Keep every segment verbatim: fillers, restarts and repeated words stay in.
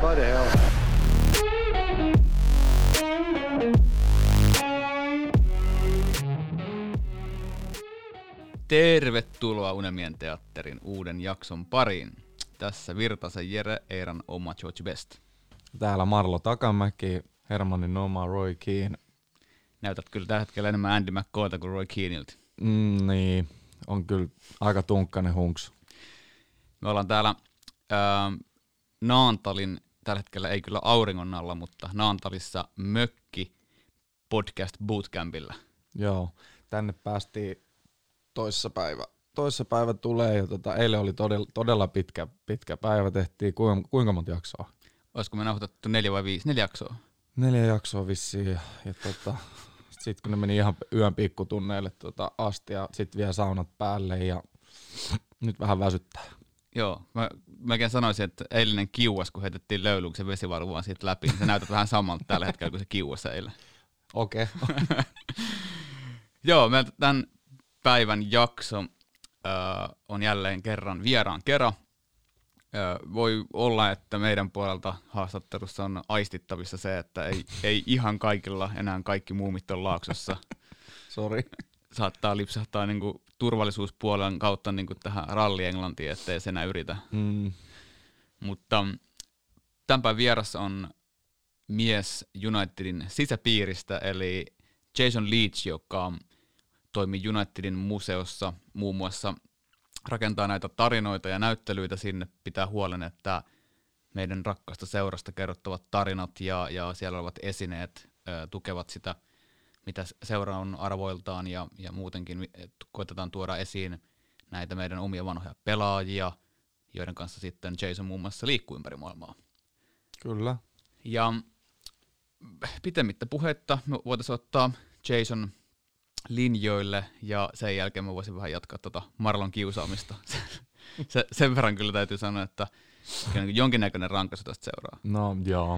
What the hell? Tervetuloa Unelmien teatterin uuden jakson pariin. Tässä Virtasen Jere, Eiran oma George Best. Täällä Marlo Takamäki, Hermannin oma Roy Keane. Näytät kyllä tällä hetkellä enemmän Andy McCoylta kuin Roy Keanelta. Mm, niin, on kyllä aika tunkkainen hunks. Me ollaan täällä ää, Naantalin, tällä hetkellä ei kyllä auringon alla, mutta Naantalissa mökki podcast bootcampilla. Joo, tänne päästiin toissapäivä. Toissapäivä tulee ja tota, eilen oli todella, todella pitkä, pitkä päivä. Tehtiin kuinka, kuinka monta jaksoa? Olisiko me nauhoitettu neljä vai viisi? Neljä jaksoa. Neljä jaksoa vissiin ja, ja tota, sitten kun ne meni ihan yön pikkutunneille tota, asti ja sitten vielä saunat päälle ja nyt vähän väsyttää. Joo, mä melkein sanoisin, että eilinen kiuas, kun heitettiin löyluksen vesivaru vaan siitä läpi, niin se näytät vähän samalta tällä hetkellä kuin se kiuas eilen. Okei. Okay. Joo, meiltä tämän päivän jakso äh, on jälleen kerran vieraan kerran. Äh, voi olla, että meidän puolelta haastattelussa on aistittavissa se, että ei, ei ihan kaikilla enää kaikki muumit on Laaksossa. Sori. Saattaa lipsahtaa niinku turvallisuuspuolen kautta niinku tähän ralli-Englantiin, ettei se enää yritä. Mm. Mutta tämän päivän vierassa on mies Unitedin sisäpiiristä, eli Jason Leach, joka toimii Unitedin museossa muun muassa, rakentaa näitä tarinoita ja näyttelyitä sinne, pitää huolen, että meidän rakkaasta seurasta kerrottavat tarinat ja, ja siellä olevat esineet ö, tukevat sitä, mitä seura on arvoiltaan ja, ja muutenkin koitetaan tuoda esiin näitä meidän omia vanhoja pelaajia, joiden kanssa sitten Jason muun muassa liikkuu ympäri maailmaa. Kyllä. Ja pitemmittä puhetta me voitaisiin ottaa Jason linjoille ja sen jälkeen mä voisin vähän jatkaa tuota Marlon kiusaamista. Se, sen verran kyllä täytyy sanoa, että jonkinnäköinen rankaisu tästä seuraa. No joo.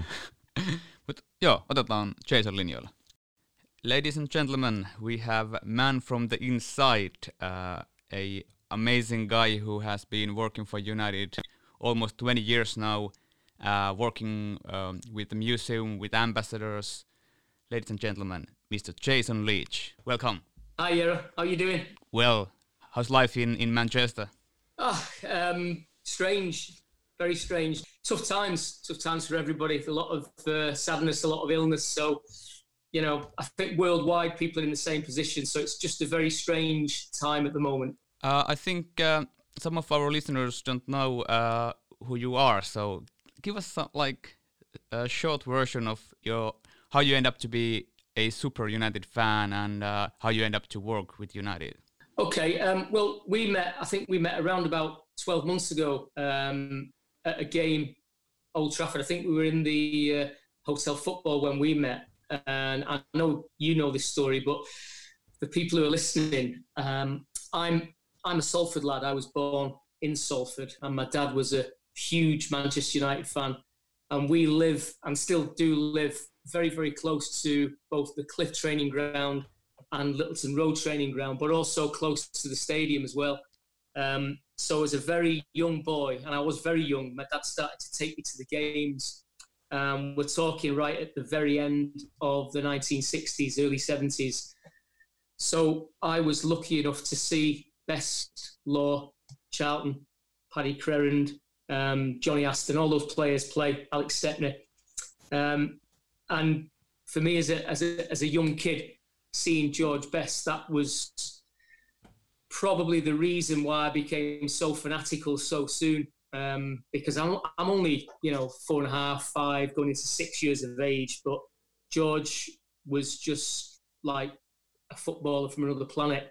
Mut joo, otetaan Jason linjoille. Ladies and gentlemen, we have man from the inside, uh, a amazing guy who has been working for United almost twenty years now, uh, working um, with the museum, with ambassadors. Ladies and gentlemen, Mister Jason Leach, welcome. Hi, Jero. How you doing? Well, how's life in, in Manchester? Ah, um, strange, very strange. Tough times, tough times for everybody. A lot of uh, sadness, a lot of illness. So, you know, I think worldwide people are in the same position. So it's just a very strange time at the moment. Uh, I think uh, some of our listeners don't know uh, who you are. So give us some, like a short version of your how you end up to be a super United fan and uh, how you end up to work with United. Okay, um, well, we met, I think we met around about twelve months ago um, at a game, Old Trafford. I think we were in the uh, Hotel Football when we met. And I know you know this story, but for people who are listening, um, I'm I'm a Salford lad. I was born in Salford and my dad was a huge Manchester United fan. And we live, and still do live, very, very close to both the Cliff training ground and Littleton Road training ground, but also close to the stadium as well. Um, so as a very young boy, and I was very young, my dad started to take me to the games. Um, we're talking right at the very end of the nineteen sixties, early seventies. So I was lucky enough to see Best, Law, Charlton, Paddy Crerand, um, Johnny Aston, all those players play, Alex Stepney. Um, And for me, as a as a as a young kid, seeing George Best, that was probably the reason why I became so fanatical so soon. Um, because I'm I'm only you know four and a half, five, going into six years of age, but George was just like a footballer from another planet.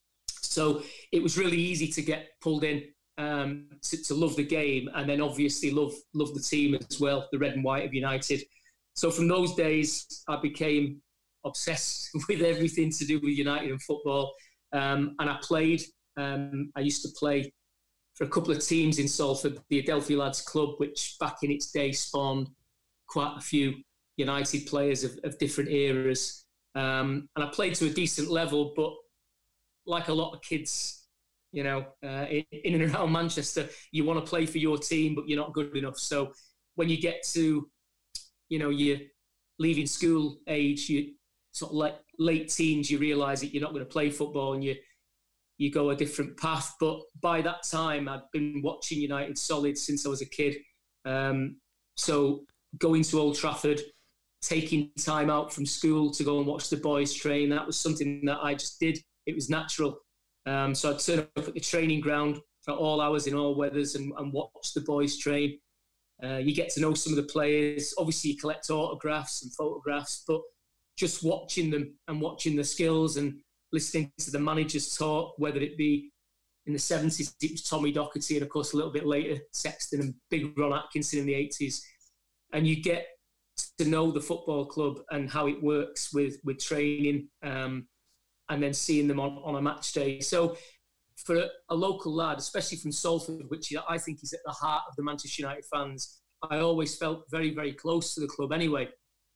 So it was really easy to get pulled in um, to, to love the game, and then obviously love love the team as well, the red and white of United. So from those days, I became obsessed with everything to do with United and football. Um, and I played, um, I used to play for a couple of teams in Salford, the Adelphi Lads Club, which back in its day spawned quite a few United players of, of different eras. Um, and I played to a decent level, but like a lot of kids, you know, uh, in, in and around Manchester, you want to play for your team, but you're not good enough. So when you get to, you know, you're leaving school age, you sort of like late teens, you realise that you're not going to play football and you you go a different path. But by that time, I'd been watching United solid since I was a kid. Um, so going to Old Trafford, taking time out from school to go and watch the boys train, that was something that I just did. It was natural. Um, so I'd turn up at the training ground at all hours in all weathers and, and watch the boys train. Uh, you get to know some of the players. Obviously, you collect autographs and photographs, but just watching them and watching the skills and listening to the managers talk, whether it be in the seventies, it was Tommy Docherty, and of course a little bit later, Sexton and Big Ron Atkinson in the eighties. And you get to know the football club and how it works with, with training, um, and then seeing them on, on a match day. So for a, a local lad, especially from Salford, which I think is at the heart of the Manchester United fans, I always felt very, very close to the club anyway,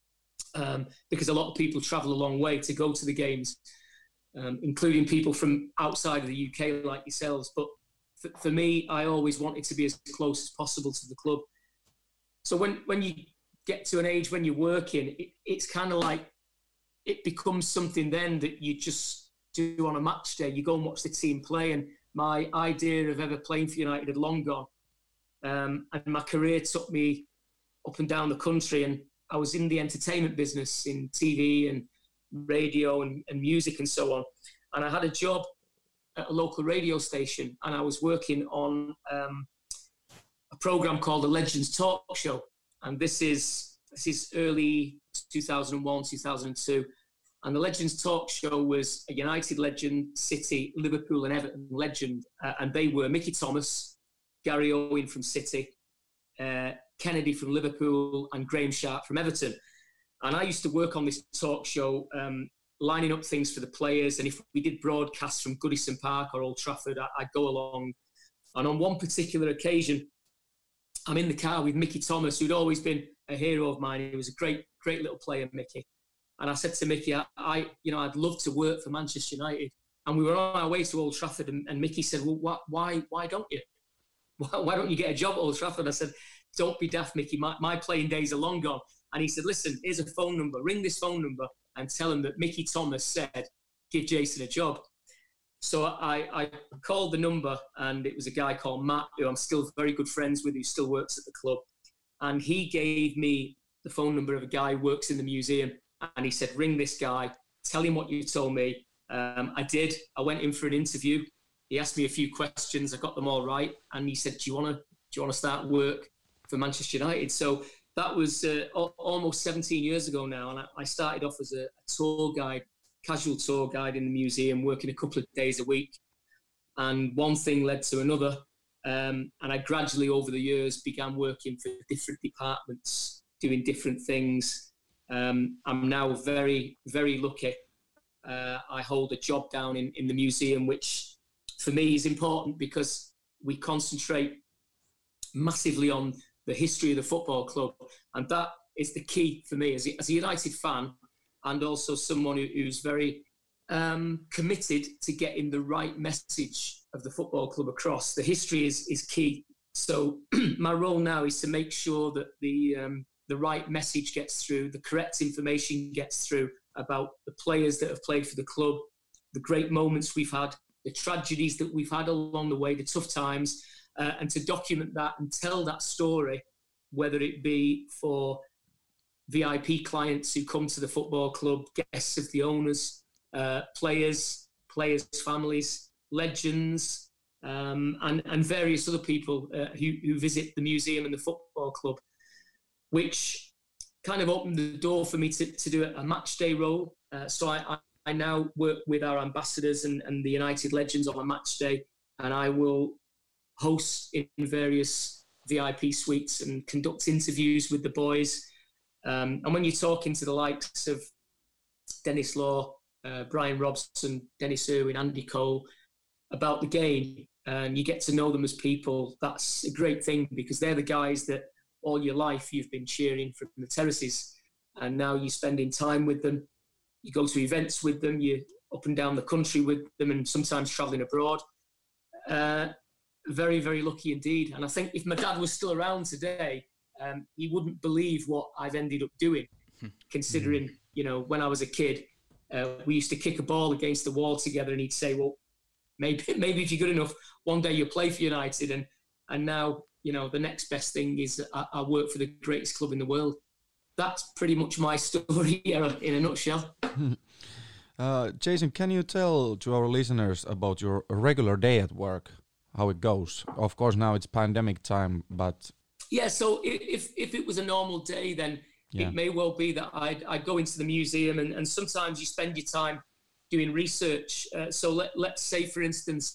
um, because a lot of people travel a long way to go to the games, um, including people from outside of the U K like yourselves. But for, for me, I always wanted to be as close as possible to the club. So when, when you get to an age when you're working, it, it's kind of like it becomes something then that you just do on a match day. You go and watch the team play, and my idea of ever playing for United had long gone. Um, and my career took me up and down the country, and I was in the entertainment business in T V and radio and, and music and so on. And I had a job at a local radio station, and I was working on um, a program called The Legends Talk Show. And this is this is early two thousand one, two thousand two. And the Legends Talk Show was a United legend, City, Liverpool and Everton legend. Uh, and they were Mickey Thomas, Gary Owen from City, uh, Kennedy from Liverpool and Graham Sharp from Everton. And I used to work on this talk show, um, lining up things for the players. And if we did broadcasts from Goodison Park or Old Trafford, I, I'd go along. And on one particular occasion, I'm in the car with Mickey Thomas, who'd always been a hero of mine. He was a great, great little player, Mickey. And I said to Mickey, I, I you know, I'd love to work for Manchester United. And we were on our way to Old Trafford, and, and Mickey said, well, why, why, why don't you? Why, why don't you get a job at Old Trafford? I said, don't be daft, Mickey. My, my playing days are long gone. And he said, listen, here's a phone number. Ring this phone number and tell him that Mickey Thomas said, give Jason a job. So I, I called the number, and it was a guy called Matt, who I'm still very good friends with, who still works at the club. And he gave me the phone number of a guy who works in the museum. And he said, ring this guy, tell him what you told me. Um, I did. I went in for an interview. He asked me a few questions. I got them all right. And he said, do you want to do you want to start work for Manchester United? So that was uh, almost seventeen years ago now. And I, I started off as a, a tour guide, casual tour guide in the museum, working a couple of days a week. And one thing led to another. Um, and I gradually, over the years, began working for different departments, doing different things. Um, I'm now very, very lucky. Uh, I hold a job down in, in the museum, which for me is important because we concentrate massively on the history of the football club. And that is the key for me as a, as a United fan, and also someone who, who's very um, committed to getting the right message of the football club across. The history is, is key. So my role now is to make sure that the um, the right message gets through, the correct information gets through about the players that have played for the club, the great moments we've had, the tragedies that we've had along the way, the tough times, uh, and to document that and tell that story, whether it be for V I P clients who come to the football club, guests of the owners, uh, players, players' families, legends, um, and, and various other people uh, who, who visit the museum and the football club, which kind of opened the door for me to, to do a match day role. Uh, so I, I now work with our ambassadors and, and the United legends on a match day, and I will host in various V I P suites and conduct interviews with the boys. Um, and when you're talking to the likes of Dennis Law, uh, Brian Robson, Dennis Irwin, Andy Cole about the game, and you get to know them as people, that's a great thing, because they're the guys that all your life you've been cheering from the terraces, and now you're spending time with them. You go to events with them, you're up and down the country with them, and sometimes travelling abroad. Uh, very, very lucky indeed. And I think if my dad was still around today, um, he wouldn't believe what I've ended up doing, considering, you know, when I was a kid, uh, we used to kick a ball against the wall together, and he'd say, well, maybe maybe if you're good enough, one day you'll play for United. And and now, you know, the next best thing is I, I work for the greatest club in the world. That's pretty much my story in a nutshell. Uh, Jason, can you tell to our listeners about your regular day at work, how it goes? Of course, now it's pandemic time, but... Yeah, so if if it was a normal day, then yeah. It may well be that I'd, I'd go into the museum, and, and sometimes you spend your time doing research. Uh, so let, let's say, for instance,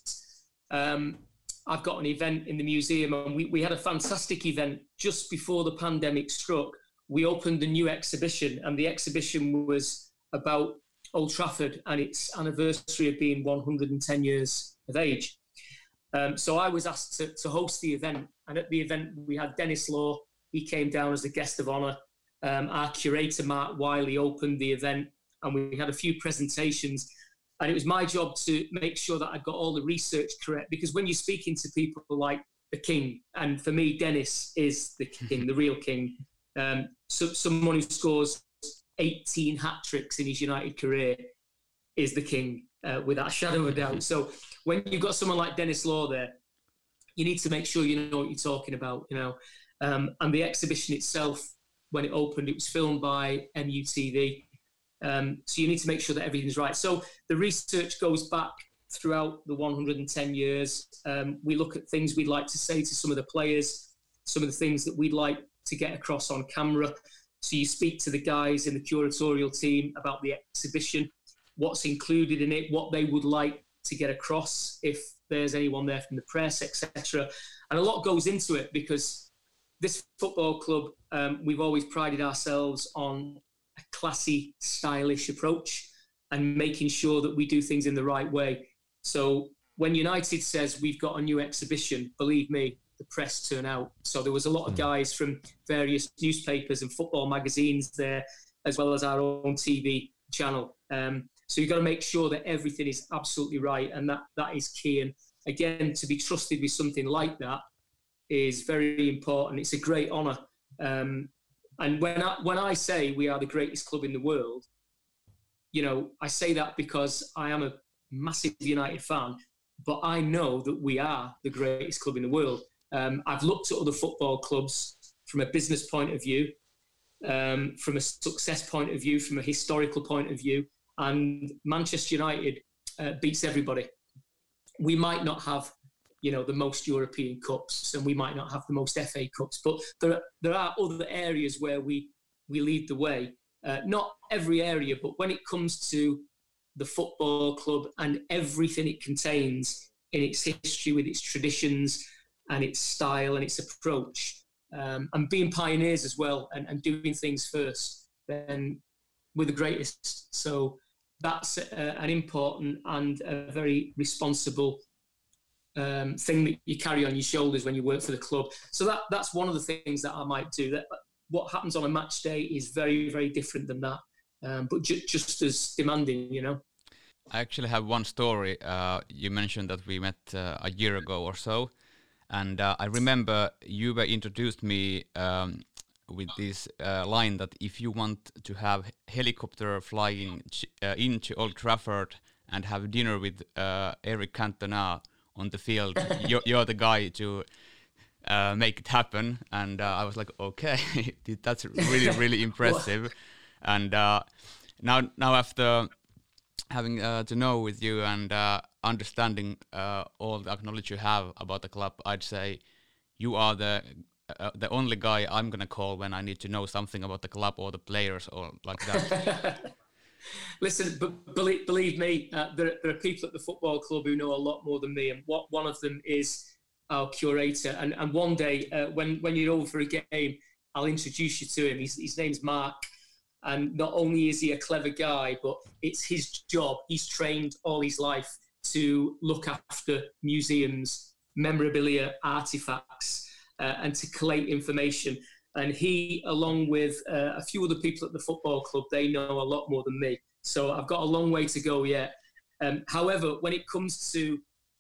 um, I've got an event in the museum, and we, we had a fantastic event just before the pandemic struck. We opened a new exhibition, and the exhibition was about Old Trafford and its anniversary of being one hundred ten years of age. Um, so I was asked to, to host the event, and at the event we had Denis Law. He came down as a guest of honour. Um, our curator, Mark Wiley, opened the event, and we had a few presentations. And it was my job to make sure that I got all the research correct, because when you're speaking to people like the king, and for me, Denis is the king, the real king, um, so, someone who scores eighteen hat-tricks in his United career is the king, uh, without a shadow of a doubt. So when you've got someone like Denis Law there, you need to make sure you know what you're talking about, you know. Um, and the exhibition itself, when it opened, it was filmed by M U T V. Um, so you need to make sure that everything's right. So the research goes back throughout the one hundred ten years. Um, we look at things we'd like to say to some of the players, some of the things that we'd like to get across on camera. So you speak to the guys in the curatorial team about the exhibition, what's included in it, what they would like to get across, if there's anyone there from the press, et cetera. And a lot goes into it, because this football club, um, we've always prided ourselves on a classy, stylish approach and making sure that we do things in the right way. So when United says we've got a new exhibition, believe me, the press turn out. So there was a lot of guys from various newspapers and football magazines there, as well as our own T V channel. Um, so you've got to make sure that everything is absolutely right, and that that is key. And again, to be trusted with something like that is very important. It's a great honour. Um, and when I, when I say we are the greatest club in the world, you know, I say that because I am a massive United fan, but I know that we are the greatest club in the world. Um, I've looked at other football clubs from a business point of view, um, from a success point of view, from a historical point of view, and Manchester United uh, beats everybody. We might not have, you know, the most European Cups, and we might not have the most F A Cups, but there there are other areas where we we lead the way. Uh, not every area, but when it comes to the football club and everything it contains in its history, with its traditions and its style and its approach, um, and being pioneers as well, and, and doing things first, then we're the greatest. So that's uh, an important and a very responsible um, thing that you carry on your shoulders when you work for the club. So that that's one of the things that I might do. That what happens on a match day is very, very different than that, um, but ju- just as demanding, you know. I actually have one story. Uh, you mentioned that we met uh, a year ago or so, and uh, I remember you were introduced me um, with this uh, line that if you want to have helicopter flying ch- uh, into Old Trafford and have dinner with uh, Eric Cantona on the field, you're, you're the guy to uh, make it happen. And uh, I was like, okay, that's really, really impressive. And uh, now, now after having uh, to know with you and uh, understanding uh, all the knowledge you have about the club, I'd say you are the uh, the only guy I'm gonna call when I need to know something about the club or the players or like that. Listen, but believe, believe me, uh, there, there are people at the football club who know a lot more than me, and what one of them is our curator. And and one day uh, when when you're over for a game, I'll introduce you to him. His, his name's Mark. And not only is he a clever guy, but it's his job. He's trained all his life to look after museums, memorabilia, artifacts, uh, and to collate information. And he, along with uh, a few other people at the football club, they know a lot more than me. So I've got a long way to go yet. Um, however, when it comes to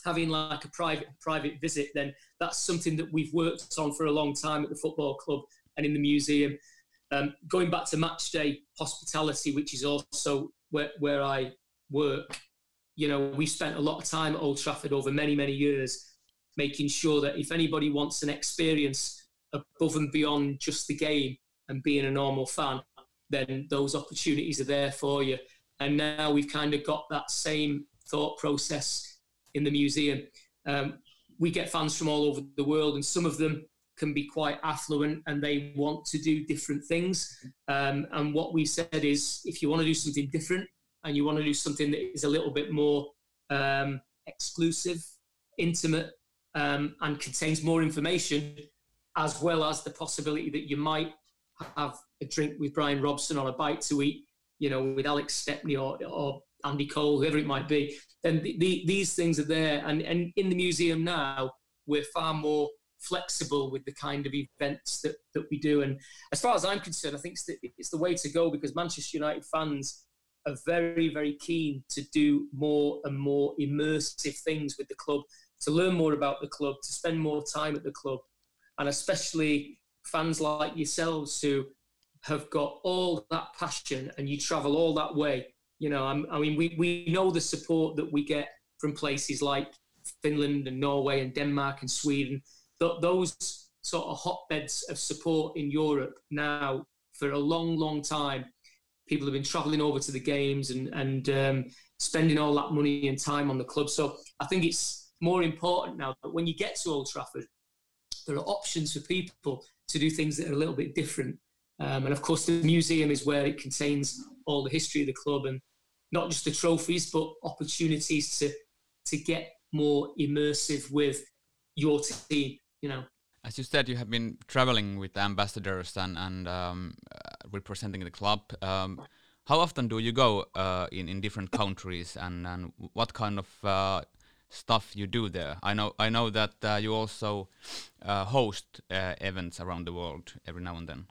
having like a private private visit, then that's something that we've worked on for a long time at the football club and in the museum. Um, going back to match day hospitality, which is also where, where I work, you know, we spent a lot of time at Old Trafford over many, many years, making sure that if anybody wants an experience above and beyond just the game and being a normal fan, then those opportunities are there for you. And now we've kind of got that same thought process in the museum. Um, we get fans from all over the world, and some of them can be quite affluent and they want to do different things. Um, and what we said is, if you want to do something different and you want to do something that is a little bit more um, exclusive, intimate, um, and contains more information, as well as the possibility that you might have a drink with Brian Robson or a bite to eat, you know, with Alex Stepney or, or Andy Cole, whoever it might be, then the, the, these things are there. And, and in the museum now, we're far more flexible with the kind of events that, that we do. And as far as I'm concerned, I think it's the, it's the way to go, because Manchester United fans are very, very keen to do more and more immersive things with the club, to learn more about the club, to spend more time at the club. And especially fans like yourselves who have got all that passion and you travel all that way. You know, I'm, I mean, we, we know the support that we get from places like Finland and Norway and Denmark and Sweden. Th- those sort of hotbeds of support in Europe now for a long, long time. People have been travelling over to the games and, and um, spending all that money and time on the club. So I think it's more important now that when you get to Old Trafford, there are options for people to do things that are a little bit different. Um, and of course, the museum is where it contains all the history of the club, and not just the trophies, but opportunities to to get more immersive with your team, you know. As you said, you have been traveling with ambassadors and, and um, uh, representing the club. Um, how often do you go uh, in, in different countries, and, and what kind of uh, stuff you do there? I know I know that uh, you also uh, host uh, events around the world every now and then.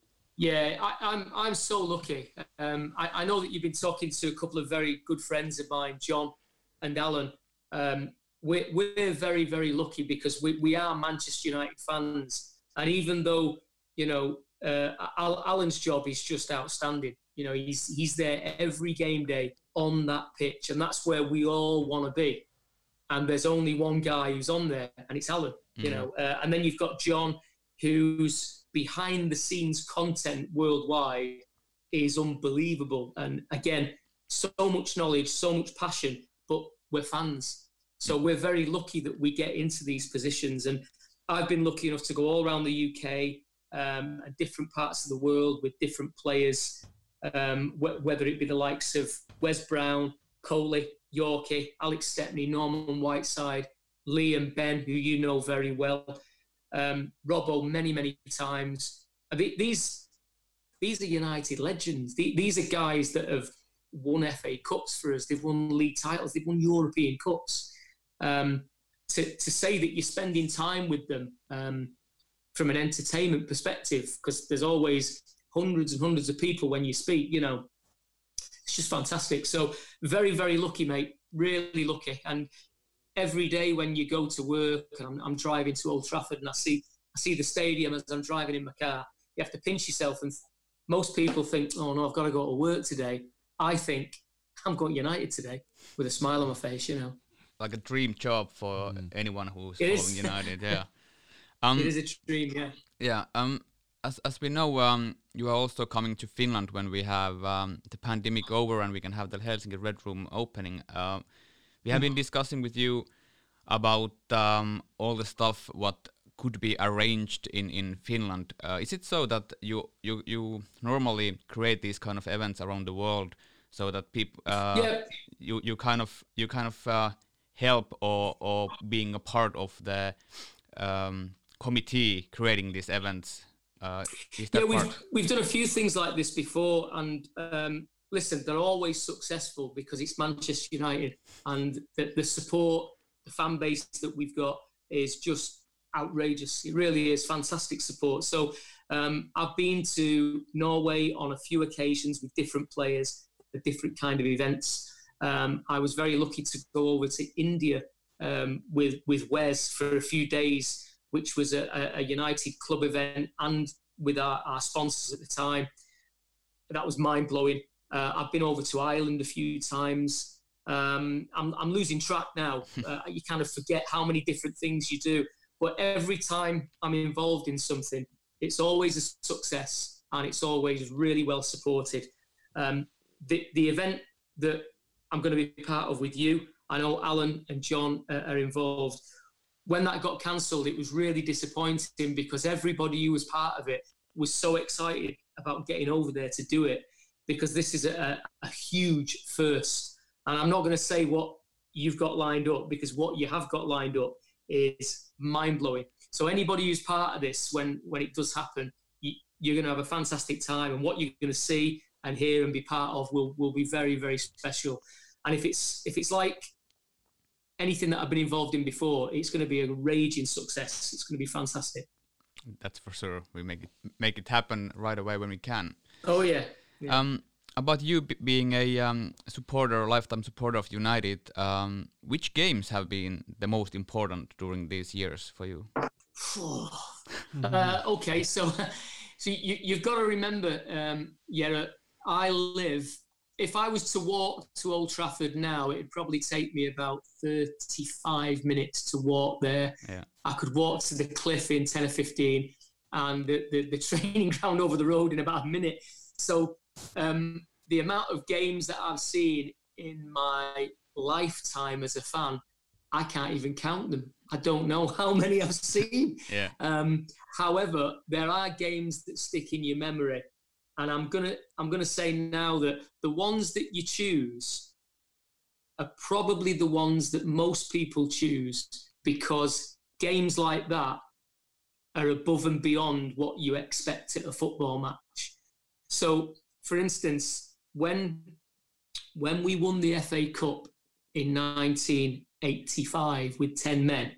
Yeah, I, I'm I'm so lucky. Um, I, I know that you've been talking to a couple of very good friends of mine, John and Alan. Um, we're, we're very, very lucky because we, we are Manchester United fans. And even though, you know, uh, Al, Alan's job is just outstanding. You know, he's he's there every game day on that pitch, and that's where we all want to be. And there's only one guy who's on there, and it's Alan, mm-hmm. you know. Uh, and then you've got John, who's behind the scenes content worldwide is unbelievable. And again, so much knowledge, so much passion, but we're fans. So we're very lucky that we get into these positions. And I've been lucky enough to go all around the U K um, and different parts of the world with different players, um, wh- whether it be the likes of Wes Brown, Coley, Yorkie, Alex Stepney, Norman Whiteside, Lee and Ben, who you know very well. Um, Robbo many, many times. These these are United legends. These are guys that have won F A Cups for us. They've won league titles. They've won European Cups. Um, to, to say that you're spending time with them um, from an entertainment perspective, because there's always hundreds and hundreds of people when you speak, you know, it's just fantastic. So very, very lucky, mate. Really lucky. And every day when you go to work, and I'm, I'm driving to Old Trafford and I see I see the stadium as I'm driving in my car, you have to pinch yourself. And most people think, oh no, I've got to go to work today. I think, I'm going United today with a smile on my face, you know. Like a dream job for mm. anyone who's it following is. United, yeah. Um, it is a dream, yeah. Yeah, um, as as we know, um, you are also coming to Finland when we have um, the pandemic over and we can have the Helsinki Red Room opening. Uh, We have been discussing with you about um, all the stuff what could be arranged in, in Finland. Uh, is it so that you, you you normally create these kind of events around the world so that people uh, yeah. you you kind of you kind of uh, help or or being a part of the um, committee creating these events? Uh, is that yeah, we've part? we've done a few things like this before, and. Um, Listen, they're always successful because it's Manchester United, and the, the support, the fan base that we've got is just outrageous. It really is fantastic support. So um, I've been to Norway on a few occasions with different players, for different kind of events. Um, I was very lucky to go over to India um, with with Wes for a few days, which was a, a United club event, and with our, our sponsors at the time. That was mind-blowing. Uh, I've been over to Ireland a few times. Um, I'm, I'm losing track now. Uh, you kind of forget how many different things you do. But every time I'm involved in something, it's always a success, and it's always really well supported. Um, the, the event that I'm going to be part of with you, I know Alan and John uh, are involved. When that got cancelled, it was really disappointing because everybody who was part of it was so excited about getting over there to do it, because this is a, a huge first. And I'm not going to say what you've got lined up, because what you have got lined up is mind-blowing. So anybody who's part of this, when, when it does happen, you, you're going to have a fantastic time, and what you're going to see and hear and be part of will, will be very, very special. And if it's if it's like anything that I've been involved in before, it's going to be a raging success. It's going to be fantastic. That's for sure. We make it make it happen right away when we can. Oh yeah. yeah. Um, about you b- being a um, supporter, lifetime supporter of United, um, which games have been the most important during these years for you? uh, okay, so so you, you've got to remember, um, yeah, I live. If I was to walk to Old Trafford now, it'd probably take me about thirty-five minutes to walk there. Yeah. I could walk to the cliff in ten or fifteen, and the, the, the training ground over the road in about a minute. So um, the amount of games that I've seen in my lifetime as a fan, I can't even count them. I don't know how many I've seen. Yeah. Um, however, there are games that stick in your memory. And I'm gonna I'm gonna say now that the ones that you choose are probably the ones that most people choose, because games like that are above and beyond what you expect at a football match. So, for instance, when when we won the F A Cup in nineteen eighty-five with ten men,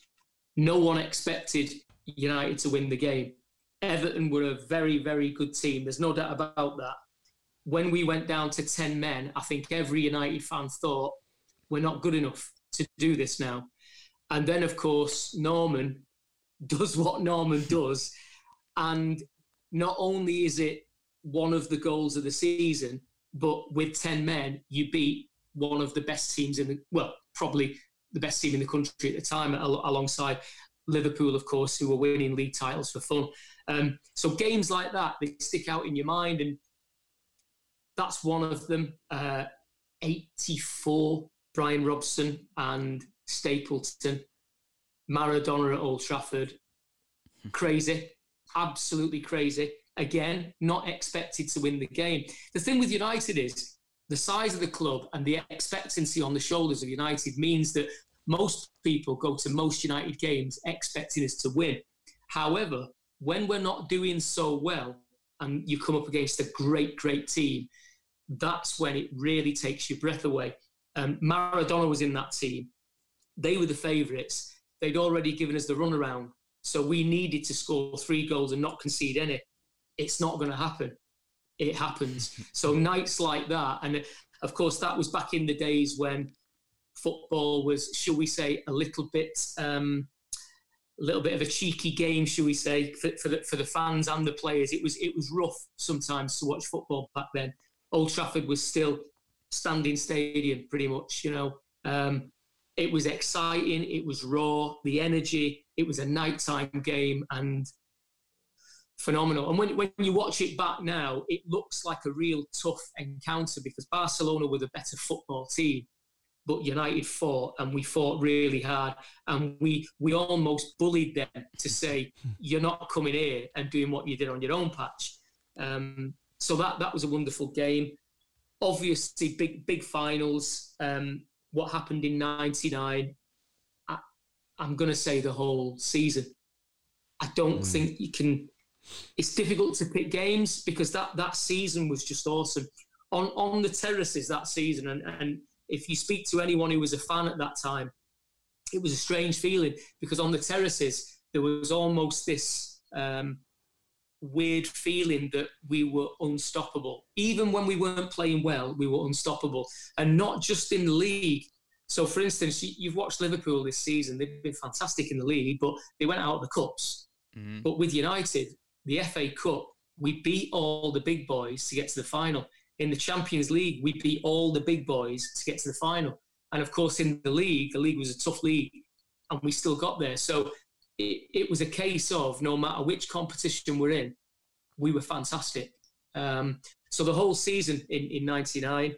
no one expected United to win the game. Everton were a very, very good team. There's no doubt about that. When we went down to ten men, I think every United fan thought, we're not good enough to do this now. And then, of course, Norman does what Norman does. And not only is it one of the goals of the season, but with ten men, you beat one of the best teams in the, well, probably the best team in the country at the time, al- alongside Liverpool, of course, who were winning league titles for fun. Um, so games like that, they stick out in your mind, and that's one of them. Uh, eighty-four, Brian Robson and Stapleton, Maradona at Old Trafford. Crazy, absolutely crazy. Again, not expected to win the game. The thing with United is the size of the club and the expectancy on the shoulders of United means that most people go to most United games expecting us to win. However, when we're not doing so well and you come up against a great, great team, that's when it really takes your breath away. Um, Maradona was in that team. They were the favourites. They'd already given us the runaround. So we needed to score three goals and not concede any. It's not going to happen. It happens. So nights like that, and of course that was back in the days when football was, shall we say, a little bit... Um, a little bit of a cheeky game, shall we say, for, for, the, for the fans and the players. It was it was rough sometimes to watch football back then. Old Trafford was still standing stadium, pretty much, you know. Um, it was exciting, it was raw, the energy, it was a nighttime game and phenomenal. And when, when you watch it back now, it looks like a real tough encounter, because Barcelona were the better football team. But United fought, and we fought really hard, and we we almost bullied them to say, you're not coming here and doing what you did on your own patch. Um, so that that was a wonderful game. Obviously, big big finals. Um, what happened in ninety-nine, I, I'm going to say the whole season. I don't mm. think you can... It's difficult to pick games, because that, that season was just awesome. On, on the terraces that season, and... and if you speak to anyone who was a fan at that time, it was a strange feeling, because on the terraces, there was almost this um, weird feeling that we were unstoppable. Even when we weren't playing well, we were unstoppable. And not just in the league, So, for instance, you've watched Liverpool this season. They've been fantastic in the league, but they went out of the cups. Mm-hmm. But with United, the F A Cup, we beat all the big boys to get to the final. In the Champions League, we beat all the big boys to get to the final. And, of course, in the league, the league was a tough league, and we still got there. So it, it was a case of no matter which competition we're in, we were fantastic. Um, so the whole season in, in ninety-nine,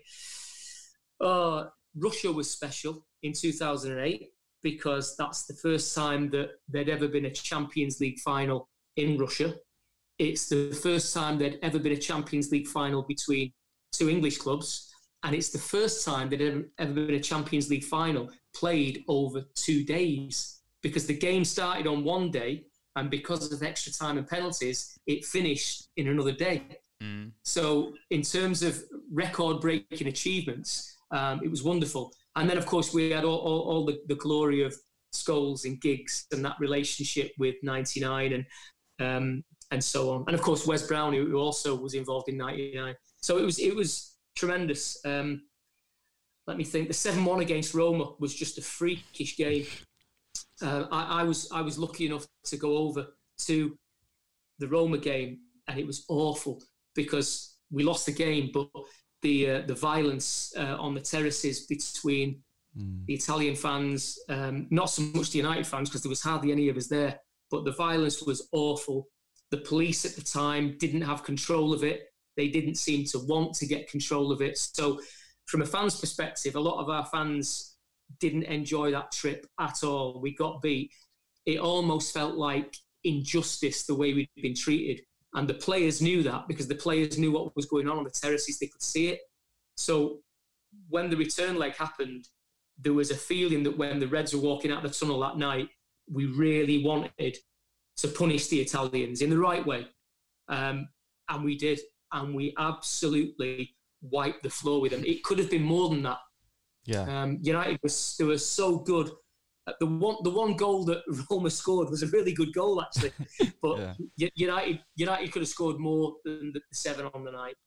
uh, Russia was special in two thousand eight because that's the first time that there'd ever been a Champions League final in Russia. It's the first time there'd ever been a Champions League final between two English clubs, and it's the first time there'd ever, ever been a Champions League final played over two days because the game started on one day, and because of extra time and penalties, it finished in another day. Mm. So in terms of record-breaking achievements, um, it was wonderful. And then, of course, we had all, all, all the, the glory of Scholes and Giggs and that relationship with ninety-nine and um, and so on. And, of course, Wes Brown, who also was involved in ninety-nine. So it was it was tremendous. Um, let me think. The seven one against Roma was just a freakish game. Uh, I, I was I was lucky enough to go over to the Roma game, and it was awful because we lost the game, but the uh, the violence uh, on the terraces between mm. the Italian fans, um, not so much the United fans because there was hardly any of us there, but the violence was awful. The police at the time didn't have control of it. They didn't seem to want to get control of it. So from a fan's perspective, a lot of our fans didn't enjoy that trip at all. We got beat. It almost felt like injustice the way we'd been treated. And the players knew that because the players knew what was going on on the terraces. They could see it. So when the return leg happened, there was a feeling that when the Reds were walking out the tunnel that night, we really wanted to punish the Italians in the right way. Um, and we did. And we absolutely wiped the floor with them. It could have been more than that. Yeah. Um, United was they were so good. The one the one goal that Roma scored was a really good goal actually, but yeah. United United could have scored more than the seven on the night.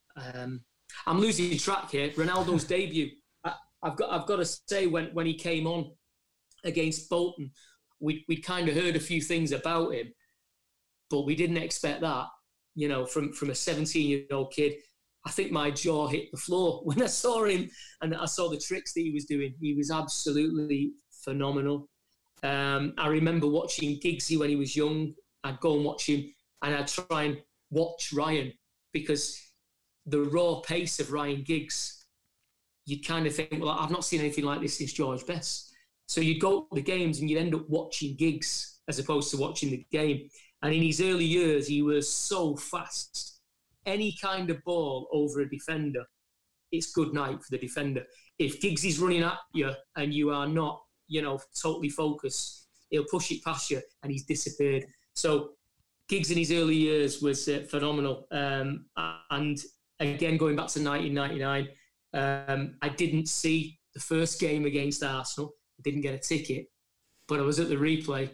Um, I'm losing track here. Ronaldo's debut. I, I've got I've got to say when when he came on against Bolton, we we kind of heard a few things about him, but we didn't expect that. You know, from from a seventeen-year-old kid. I think my jaw hit the floor when I saw him and I saw the tricks that he was doing. He was absolutely phenomenal. Um, I remember watching Giggsy when he was young. I'd go and watch him and I'd try and watch Ryan because the raw pace of Ryan Giggs, you'd kind of think, well, I've not seen anything like this since George Best. So you'd go to the games and you'd end up watching Giggs as opposed to watching the game. And in his early years, he was so fast. Any kind of ball over a defender, it's good night for the defender. If Giggs is running at you and you are not, you know, totally focused, he'll push it past you and he's disappeared. So Giggs in his early years was uh, phenomenal. Um, and again, going back to nineteen ninety-nine, um, I didn't see the first game against Arsenal. I didn't get a ticket, but I was at the replay.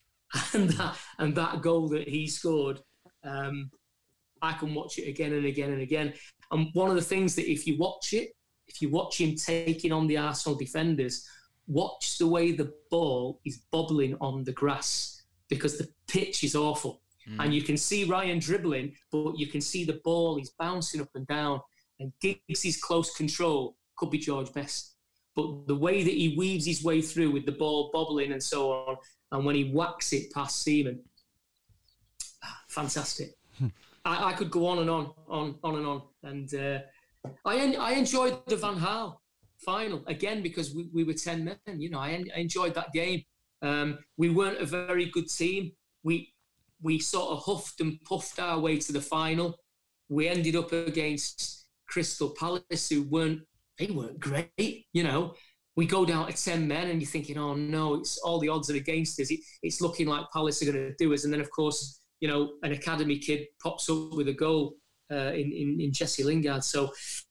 And that, and that goal that he scored, um, I can watch it again and again and again. And one of the things that if you watch it, if you watch him taking on the Arsenal defenders, watch the way the ball is bobbling on the grass because the pitch is awful. Mm. And you can see Ryan dribbling, but you can see the ball is bouncing up and down. And Giggs' close control could be George Best. But the way that he weaves his way through with the ball bobbling and so on, and when he whacks it past Seaman, fantastic. I, I could go on and on, on, on and on. And uh, I en- I enjoyed the Van Gaal final, again, because we, we were ten men. You know, I, en- I enjoyed that game. Um, we weren't a very good team. We we sort of huffed and puffed our way to the final. We ended up against Crystal Palace, who weren't, they weren't great, you know. We go down to ten men and you're thinking, oh no, it's all the odds are against us. It, it's looking like Palace are going to do us. And then, of course, you know, an academy kid pops up with a goal uh, in, in, in Jesse Lingard. So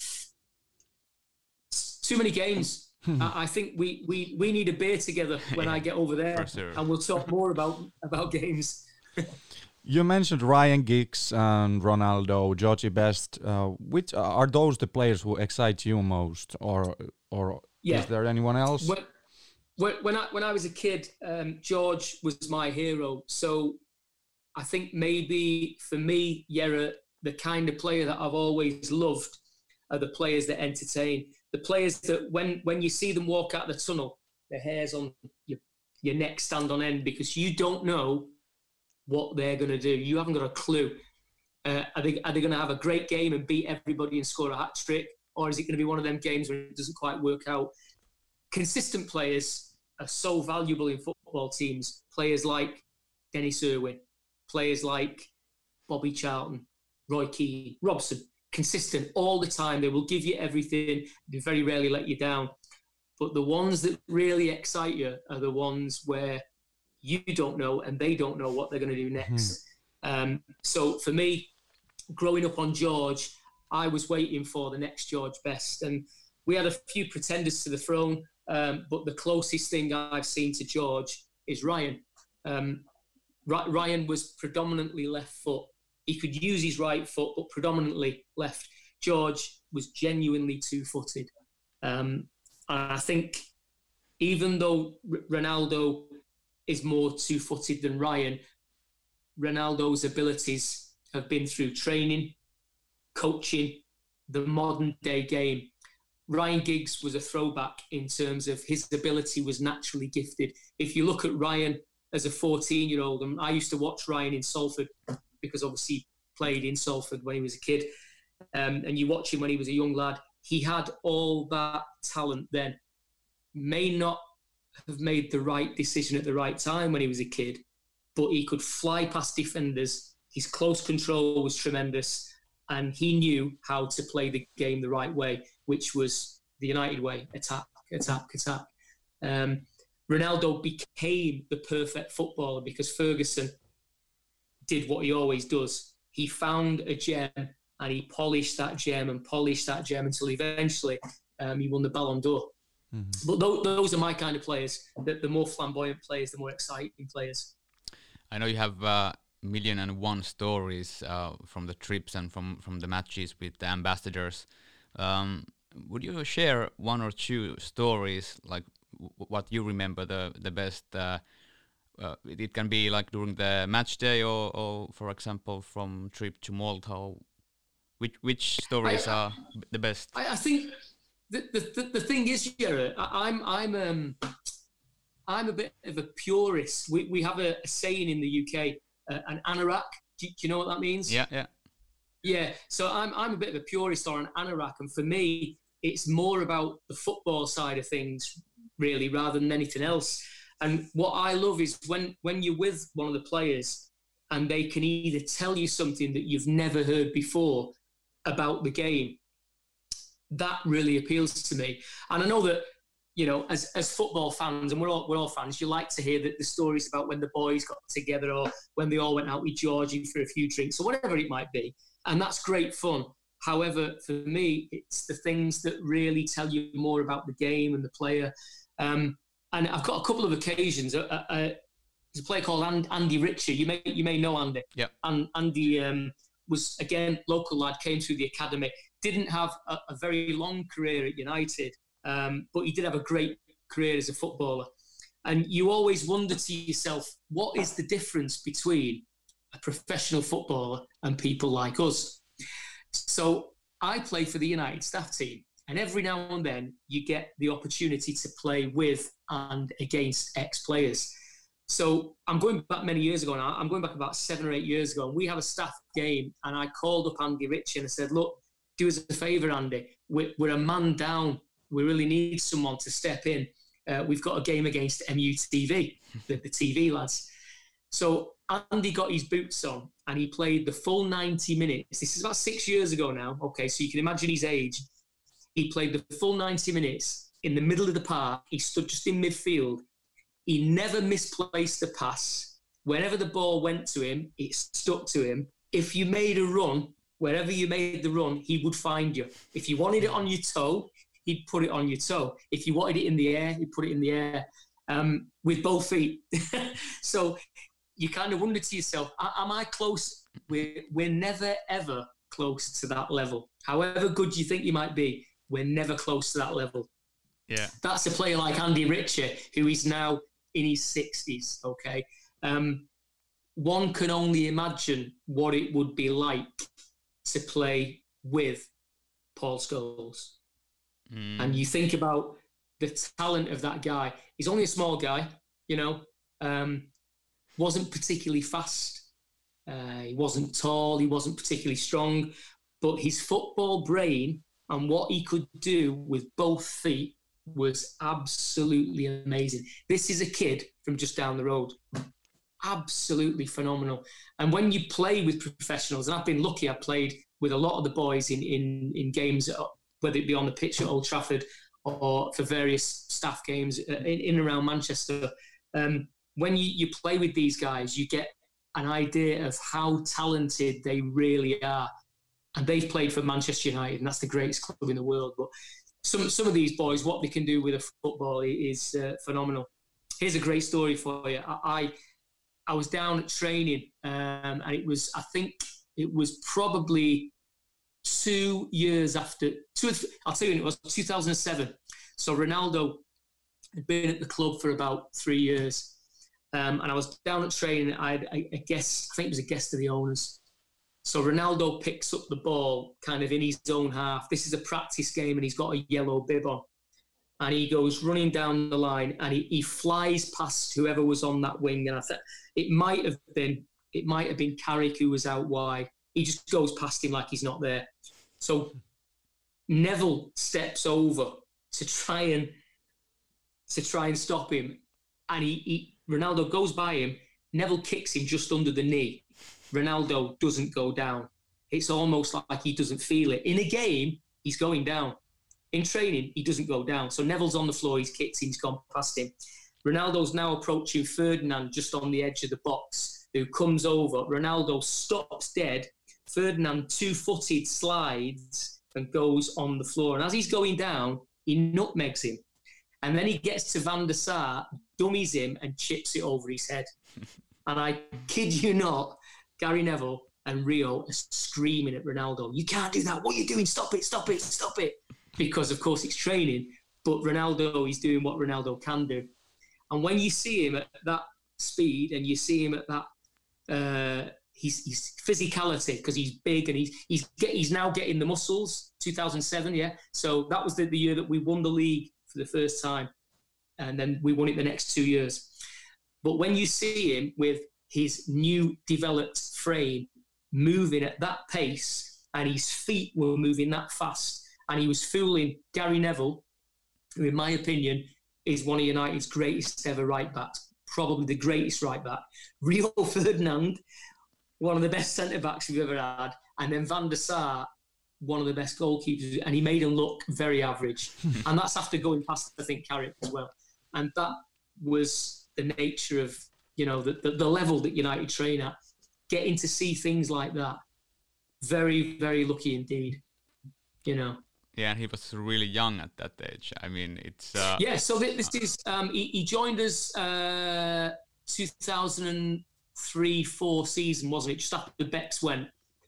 too many games. I, I think we, we, we need a beer together when I get over there sure. and we'll talk more about, about games. You mentioned Ryan Giggs and Ronaldo, Georgie Best. Uh, which are those the players who excite you most, or or Yeah. Is there anyone else? When, when, when I when I was a kid, um, George was my hero. So I think maybe for me, Yera, the kind of player that I've always loved are the players that entertain. The players that when when you see them walk out the tunnel, their hair's on your, your neck stand on end because you don't know what they're going to do. You haven't got a clue. Uh, are they, are they going to have a great game and beat everybody and score a hat trick? Or is it going to be one of them games where it doesn't quite work out? Consistent players are so valuable in football teams. Players like Dennis Irwin, players like Bobby Charlton, Roy Keane, Robson, consistent all the time. They will give you everything. They very rarely let you down. But the ones that really excite you are the ones where you don't know and they don't know what they're going to do next. Mm. Um, so for me, growing up on George, I was waiting for the next George Best. And we had a few pretenders to the throne, um, but the closest thing I've seen to George is Ryan. Um, R- Ryan was predominantly left foot. He could use his right foot, but predominantly left. George was genuinely two-footed. Um, and I think even though R- Ronaldo is more two-footed than Ryan, Ronaldo's abilities have been through training, coaching, the modern-day game. Ryan Giggs was a throwback in terms of his ability was naturally gifted. If you look at Ryan as a fourteen-year-old, and I used to watch Ryan in Salford because obviously he played in Salford when he was a kid, um, and you watch him when he was a young lad, he had all that talent then. May not have made the right decision at the right time when he was a kid, but he could fly past defenders. His close control was tremendous, and he knew how to play the game the right way, which was the United way: attack, attack, attack. Um, Ronaldo became the perfect footballer because Ferguson did what he always does. He found a gem and he polished that gem and polished that gem until eventually um, he won the Ballon d'Or. Mm-hmm. But th- those are my kind of players. The, the more flamboyant players, the more exciting players. I know you have a uh, million and one stories uh, from the trips and from, from the matches with the ambassadors. Um, would you share one or two stories, like w- what you remember the, the best? Uh, uh, it can be like during the match day or, or for example, from trip to Malta. Which, which stories I, are the best? I, I think... The, the the thing is, yeah, I'm I'm um I'm a bit of a purist. We we have a, a saying in the U K, uh, an anorak. Do, do you know what that means? Yeah, yeah, yeah. So I'm I'm a bit of a purist or an anorak, and for me, it's more about the football side of things, really, rather than anything else. And what I love is when when you're with one of the players, and they can either tell you something that you've never heard before about the game. That really appeals to me. And I know that, you know, as as football fans, and we're all we're all fans, you like to hear that the stories about when the boys got together or when they all went out with Georgie for a few drinks or whatever it might be. And that's great fun. However, for me, it's the things that really tell you more about the game and the player. Um, and I've got a couple of occasions. Uh, uh, there's a player called And, Andy Richer. You may you may know Andy. Yeah. And Andy um, was, again, local lad, came through the academy. Didn't have a, a very long career at United, um, but he did have a great career as a footballer. And you always wonder to yourself, what is the difference between a professional footballer and people like us? So I play for the United staff team, and every now and then you get the opportunity to play with and against ex-players. So I'm going back many years ago now. I'm going back about seven or eight years ago, and we have a staff game, and I called up Andy Rich and I said, look, do us a favour, Andy. We're, we're a man down. We really need someone to step in. Uh, we've got a game against M U T V, the, the T V lads. So Andy got his boots on and he played the full ninety minutes. This is about six years ago now. Okay, so you can imagine his age. He played the full ninety minutes in the middle of the park. He stood just in midfield. He never misplaced a pass. Whenever the ball went to him, it stuck to him. If you made a run, wherever you made the run, he would find you. If you wanted it on your toe, he'd put it on your toe. If you wanted it in the air, he'd put it in the air um, with both feet. So you kind of wonder to yourself, am I close? We're, we're never, ever close to that level. However good you think you might be, we're never close to that level. Yeah. That's a player like Andy Richer, who is now in his sixties, okay? Um, one can only imagine what it would be like to play with Paul Scholes. Mm. And you think about the talent of that guy. He's only a small guy, you know, um, wasn't particularly fast. Uh, he wasn't tall. He wasn't particularly strong. But his football brain and what he could do with both feet was absolutely amazing. This is a kid from just down the road. Absolutely phenomenal. And when you play with professionals, and I've been lucky, I've played with a lot of the boys in, in, in games, whether it be on the pitch at Old Trafford or for various staff games in, in and around Manchester. Um, when you, you play with these guys, you get an idea of how talented they really are. And they've played for Manchester United, and that's the greatest club in the world. But some some of these boys, what they can do with a football is uh, phenomenal. Here's a great story for you. I I, I was down at training, um, and it was, I think it was probably two years after, two, I'll tell you when it was, two thousand seven. So Ronaldo had been at the club for about three years. Um, and I was down at training. I had a, a guest, I think it was a guest of the owners. So Ronaldo picks up the ball kind of in his own half. This is a practice game and he's got a yellow bib on. And he goes running down the line and he, he flies past whoever was on that wing. And I thought it might have been, it might have been Carrick who was out wide. He just goes past him like he's not there. So Neville steps over to try and to try and stop him. And he, he Ronaldo goes by him. Neville kicks him just under the knee. Ronaldo doesn't go down. It's almost like he doesn't feel it. In a game, he's going down. In training, he doesn't go down. So Neville's on the floor, he's kicked him, he's gone past him. Ronaldo's now approaching Ferdinand just on the edge of the box, who comes over. Ronaldo stops dead. Ferdinand, two-footed, slides and goes on the floor. And as he's going down, he nutmegs him. And then he gets to Van der Sar, dummies him and chips it over his head. And I kid you not, Gary Neville and Rio are screaming at Ronaldo, "You can't do that. What are you doing? Stop it, stop it, stop it." Because, of course, it's training. But Ronaldo is doing what Ronaldo can do. And when you see him at that speed and you see him at that uh, his, his physicality, because he's big and he's he's get, he's now getting the muscles, two thousand seven, yeah? So that was the, the year that we won the league for the first time. And then we won it the next two years. But when you see him with his new developed frame moving at that pace and his feet were moving that fast and he was fooling Gary Neville, who in my opinion is one of United's greatest ever right backs, probably the greatest right back, Rio Ferdinand, one of the best centre-backs we've ever had, and then Van der Sar, one of the best goalkeepers, and he made him look very average. And that's after going past, I think, Carrick as well. And that was the nature of, you know, the, the, the level that United train at. Getting to see things like that, very, very lucky indeed, you know. Yeah, and he was really young at that age. I mean, it's... Uh, yeah, so this is... Um, he, he joined us uh, two thousand three four season, wasn't it? Just after Bex went.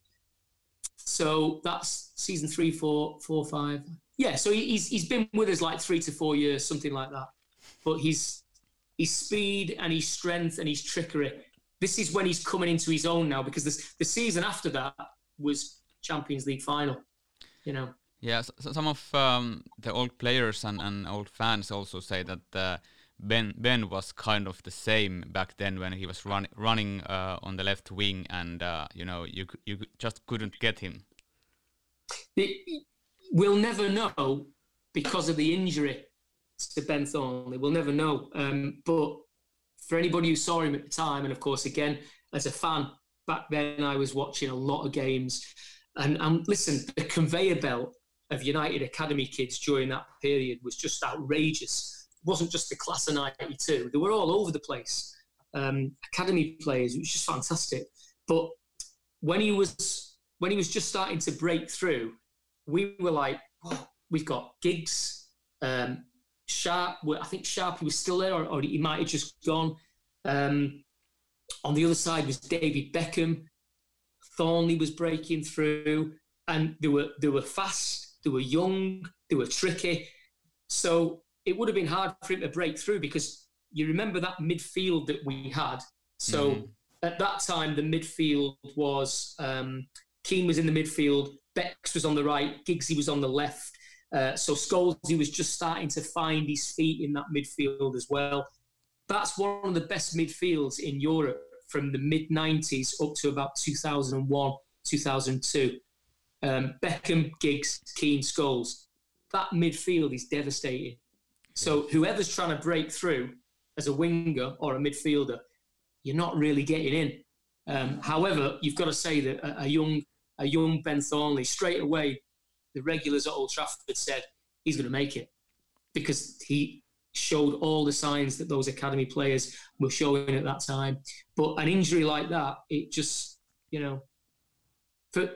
So that's season three, four, four, five. Yeah, so he, he's he's been with us like three to four years, something like that. But his his speed and his strength and his trickery, this is when he's coming into his own now, because this, the season after that was Champions League final, you know. Yeah, so some of um, the old players and, and old fans also say that uh, Ben Ben was kind of the same back then when he was run, running uh, on the left wing, and uh, you know you you just couldn't get him. It, we'll never know because of the injury to Ben Thornley. We'll never know. Um, but for anybody who saw him at the time, and of course again as a fan back then, I was watching a lot of games, and and listen, the conveyor belt of United Academy kids during that period was just outrageous. It wasn't just the class of ninety-two. They were all over the place. Um, academy players, it was just fantastic. But when he was when he was just starting to break through, we were like, oh, we've got Giggs, um, Sharp. I think Sharp, he was still there, or, or he might have just gone. Um, on the other side was David Beckham. Thornley was breaking through, and they were they were fast. They were young, they were tricky. So it would have been hard for him to break through because you remember that midfield that we had. So mm-hmm. at that time, the midfield was um, Keane was in the midfield, Bex was on the right, Giggsy was on the left. Uh, so Scholesy was just starting to find his feet in that midfield as well. That's one of the best midfields in Europe from the mid nineties up to about two thousand one, two thousand two. Um, Beckham, Giggs, Keane, Scholes. That midfield is devastating. So whoever's trying to break through as a winger or a midfielder, you're not really getting in. Um, however, you've got to say that a, a young a young Ben Thornley, straight away, the regulars at Old Trafford said he's going to make it because he showed all the signs that those academy players were showing at that time. But an injury like that, it just, you know, for,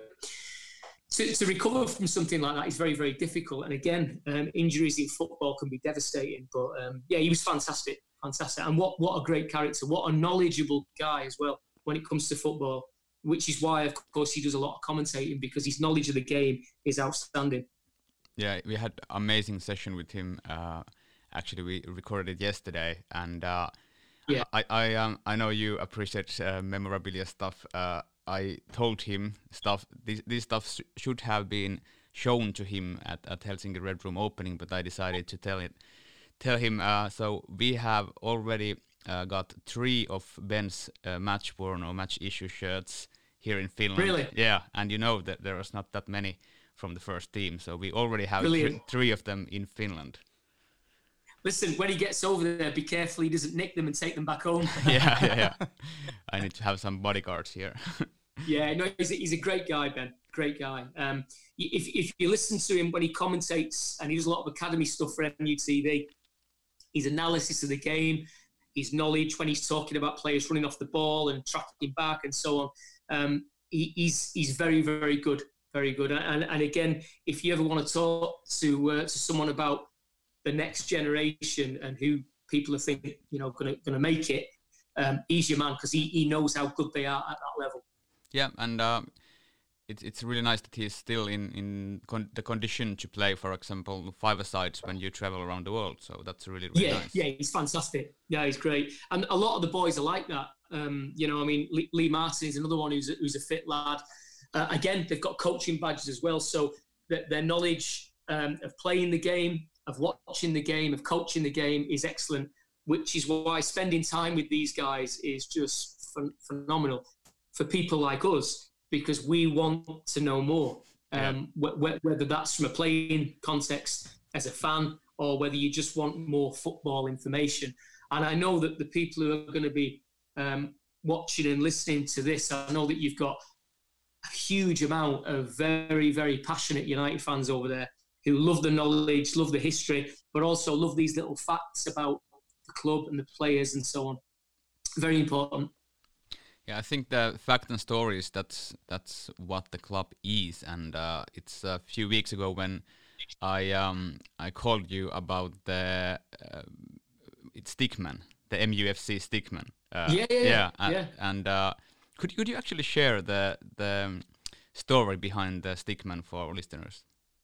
to, to recover from something like that is very, very difficult. And again, um, injuries in football can be devastating. But um, yeah, he was fantastic, fantastic. And what, what a great character, what a knowledgeable guy as well when it comes to football, which is why, of course, he does a lot of commentating because his knowledge of the game is outstanding. Yeah, we had an amazing session with him. Uh, actually, we recorded it yesterday, and uh, yeah, I I, um, I know you appreciate uh, memorabilia stuff. Uh, I told him stuff. This this stuff sh- should have been shown to him at, at Helsinki Red Room opening, but I decided to tell it tell him. Uh, so we have already uh, got three of Ben's uh, match worn or match issue shirts here in Finland. Really? Yeah, and you know that there was not that many from the first team, so we already have th- three of them in Finland. Listen, when he gets over there, be careful he doesn't nick them and take them back home. yeah, yeah, yeah. I need to have some bodyguards here. yeah, no, he's a, he's a great guy, Ben. Great guy. Um, if if you listen to him when he commentates, and he does a lot of academy stuff for M U T V, his analysis of the game, his knowledge when he's talking about players running off the ball and tracking back and so on, um, he, he's he's very, very good. Very good. And and again, if you ever want to talk to uh, to someone about the next generation and who people are thinking, you know, going to going to make it, um, he's your man because he, he knows how good they are at that level. Yeah, and uh, it's it's really nice that he's still in in con- the condition to play, for example, five-a-sides when you travel around the world. So that's really really yeah, nice. Yeah, he's fantastic. Yeah, he's great. And a lot of the boys are like that. Um, you know, I mean, Lee, Lee Martin is another one who's a, who's a fit lad. Uh, again, they've got coaching badges as well, so th- their knowledge um, of playing the game, of watching the game, of coaching the game is excellent, which is why spending time with these guys is just ph- phenomenal for people like us, because we want to know more, um, yeah. wh- whether that's from a playing context as a fan or whether you just want more football information. And I know that the people who are going to be um, watching and listening to this, I know that you've got a huge amount of very, very passionate United fans over there who love the knowledge, love the history, but also love these little facts about the club and the players and so on. Very important. Yeah, I think the fact and stories, that's that's what the club is. And uh, it's a few weeks ago when I um, I called you about the uh, it's Stickman, the M U F C Stickman. Uh, yeah, yeah, yeah. And, yeah. and uh, could could you actually share the the um, story behind the Stickman for our listeners?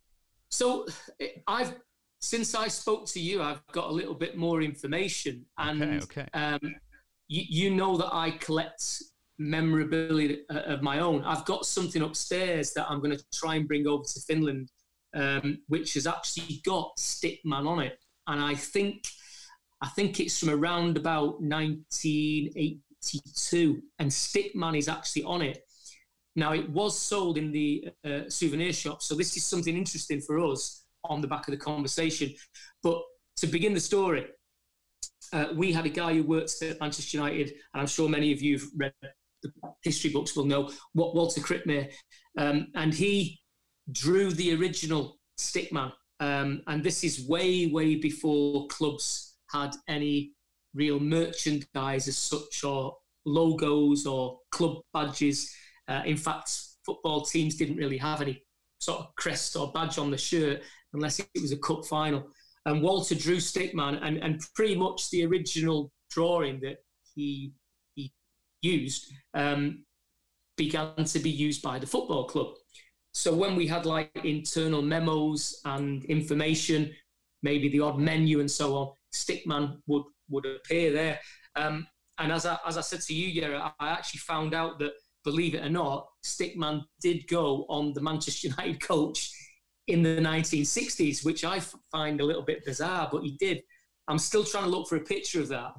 So I've since I spoke to you, I've got a little bit more information, and okay, okay. Um, you, you know that I collect memorabilia of my own. I've got something upstairs that I'm going to try and bring over to Finland, um, which has actually got Stickman on it, and I think I think it's from around about nineteen eighty-two, and Stickman is actually on it. Now, it was sold in the uh, souvenir shop, so this is something interesting for us on the back of the conversation. But to begin the story, uh, we had a guy who works at Manchester United, and I'm sure many of you have read the history books will know, what Walter Krippmeier, um, and he drew the original Stickman. Um, and this is way, way before clubs had any real merchandise as such, or logos or club badges. Uh, in fact, football teams didn't really have any sort of crest or badge on the shirt unless it was a cup final. And Walter drew Stickman, and, and pretty much the original drawing that he he used um, began to be used by the football club. So when we had like internal memos and information, maybe the odd menu and so on, Stickman would would appear there. Um, and as I as I said to you, Yera, I actually found out that, believe it or not, Stickman did go on the Manchester United coach in the nineteen sixties, which I f- find a little bit bizarre, but he did. I'm still trying to look for a picture of that.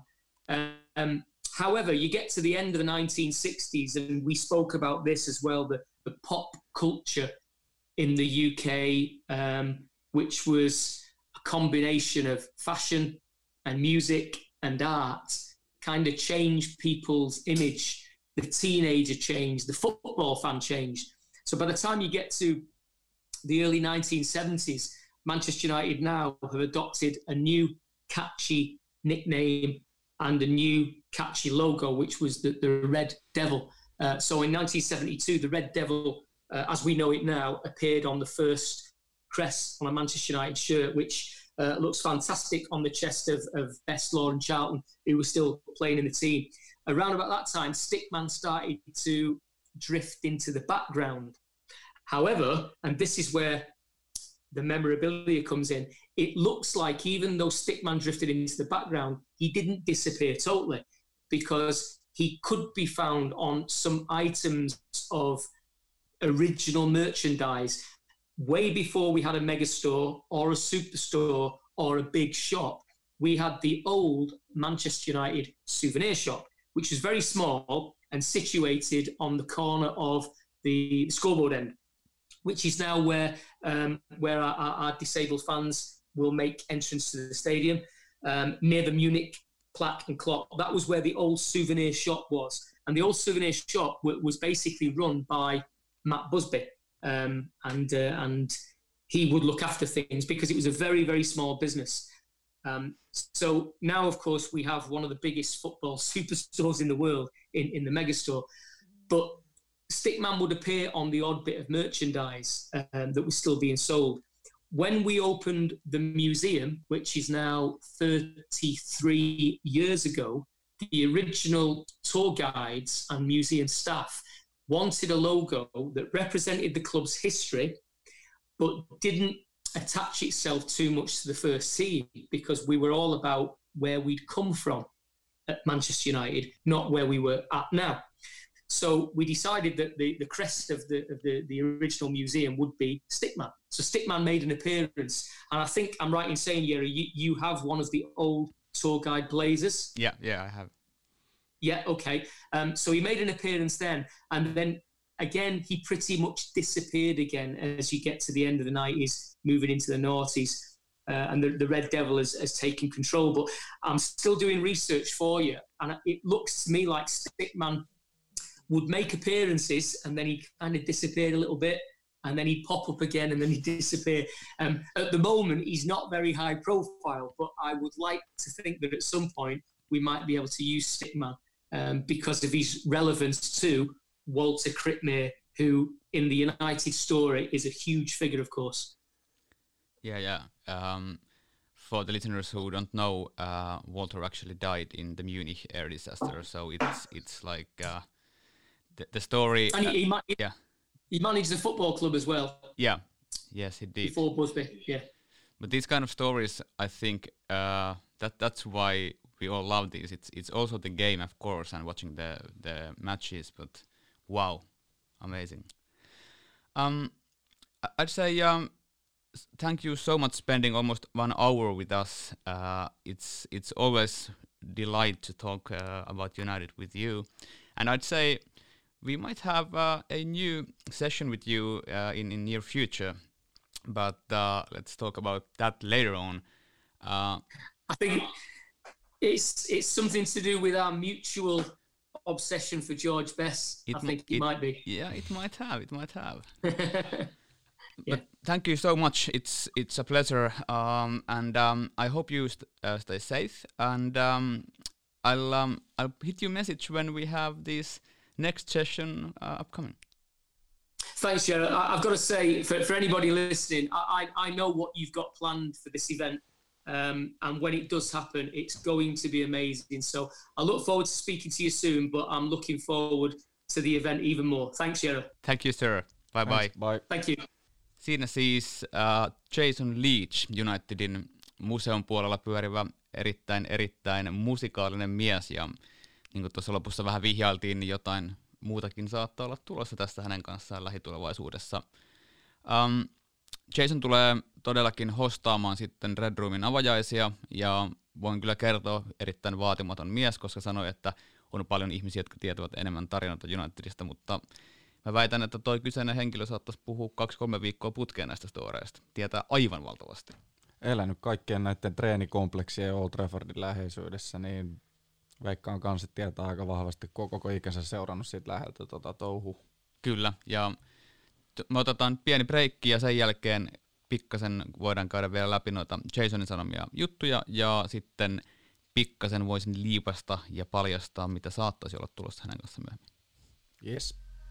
Um, however, you get to the end of the nineteen sixties, and we spoke about this as well, the, the pop culture in the U K, um, which was a combination of fashion and music and art, kind of changed people's image. The teenager changed, the football fan changed. So by the time you get to the early nineteen seventies, Manchester United now have adopted a new catchy nickname and a new catchy logo, which was the, the Red Devil. Uh, so in nineteen seventy-two, the Red Devil, uh, as we know it now, appeared on the first crest on a Manchester United shirt, which uh, looks fantastic on the chest of, of Best, Lauren Charlton, who was still playing in the team. Around about that time, Stickman started to drift into the background. However, and this is where the memorabilia comes in, it looks like even though Stickman drifted into the background, he didn't disappear totally, because he could be found on some items of original merchandise way before we had a megastore or a superstore or a big shop. We had the old Manchester United souvenir shop, which was very small and situated on the corner of the scoreboard end, which is now where um, where our, our, our disabled fans will make entrance to the stadium, um, near the Munich plaque and clock. That was where the old souvenir shop was. And the old souvenir shop w- was basically run by Matt Busby. Um, and uh, and he would look after things because it was a very, very small business. Um, so now, of course, we have one of the biggest football superstores in the world in, in the megastore. But Stickman would appear on the odd bit of merchandise um, that was still being sold. When we opened the museum, which is now thirty-three years ago, the original tour guides and museum staff wanted a logo that represented the club's history, but didn't attach itself too much to the first team, because we were all about where we'd come from at Manchester United, not where we were at now. So we decided that the, the crest of the of the, the original museum would be Stickman. So Stickman made an appearance, and I think I'm right in saying, Yeri, you, you have one of the old tour guide blazers. Yeah, yeah, I have. Yeah, okay. Um, so he made an appearance then, and then again he pretty much disappeared again as you get to the end of the nineties, moving into the noughties, uh, and the, the Red Devil has, has taken control. But I'm still doing research for you, and it looks to me like Stickman would make appearances and then he kind of disappeared a little bit, and then he'd pop up again and then he'd disappear. Um, at the moment, he's not very high profile, but I would like to think that at some point we might be able to use Stickman um, because of his relevance to Walter Krippmeyer, who in the United story is a huge figure, of course. Yeah, yeah. Um, for the listeners who don't know, uh, Walter actually died in the Munich air disaster, so it's it's like... Uh, The, the story, and he, uh, he, ma- yeah, he managed the football club as well. Yeah, yes, he did. Before Busby, yeah. But these kind of stories, I think uh, that that's why we all love these. It's it's also the game, of course, and watching the the matches. But wow, amazing. Um, I'd say um, thank you so much spending almost one hour with us. Uh, it's it's always delight to talk uh, about United with you, and I'd say we might have uh, a new session with you uh, in in near future, but uh, let's talk about that later on. Uh, I think it's it's something to do with our mutual obsession for George Best. I think it, it might be. Yeah, it might have. It might have. Yeah. But thank you so much. It's it's a pleasure, um, and um, I hope you st- uh, stay safe. And um, I'll um, I'll hit you a message when we have this next session uh, upcoming. Thanks, Jared. I've got to say, for, for anybody listening, I, I I know what you've got planned for this event, um, and when it does happen, it's going to be amazing. So I look forward to speaking to you soon, but I'm looking forward to the event even more. Thanks, Jared. Thank you, sir. Bye bye. Bye. Thank you. Siinä siis uh, Jason Leach, Unitedin museon puolella pyörivä erittäin, erittäin musikaalinen mies, ja niin kuin tuossa lopussa vähän vihjailtiin, niin jotain muutakin saattaa olla tulossa tästä hänen kanssaan lähitulevaisuudessa. Um, Jason tulee todellakin hostaamaan sitten Red Roomin avajaisia, ja voin kyllä kertoa, erittäin vaatimaton mies, koska sanoi, että on paljon ihmisiä, jotka tietävät enemmän tarinoita Unitedista, mutta mä väitän, että toi kyseinen henkilö saattaisi puhua kaksi-kolme viikkoa putkeen näistä storeista. Tietää aivan valtavasti. Elänyt kaikkien näiden treenikompleksien ja Old Traffordin läheisyydessä, niin veikkaan kanssa tietää aika vahvasti, kun koko ikänsä seurannut siitä läheltä tota touhua. Kyllä, ja t- me otetaan pieni breikki, ja sen jälkeen pikkasen voidaan käydä vielä läpi noita Jasonin sanomia juttuja, ja sitten pikkasen voisin liipasta ja paljastaa, mitä saattaisi olla tulossa hänen kanssa myöhemmin. Yes.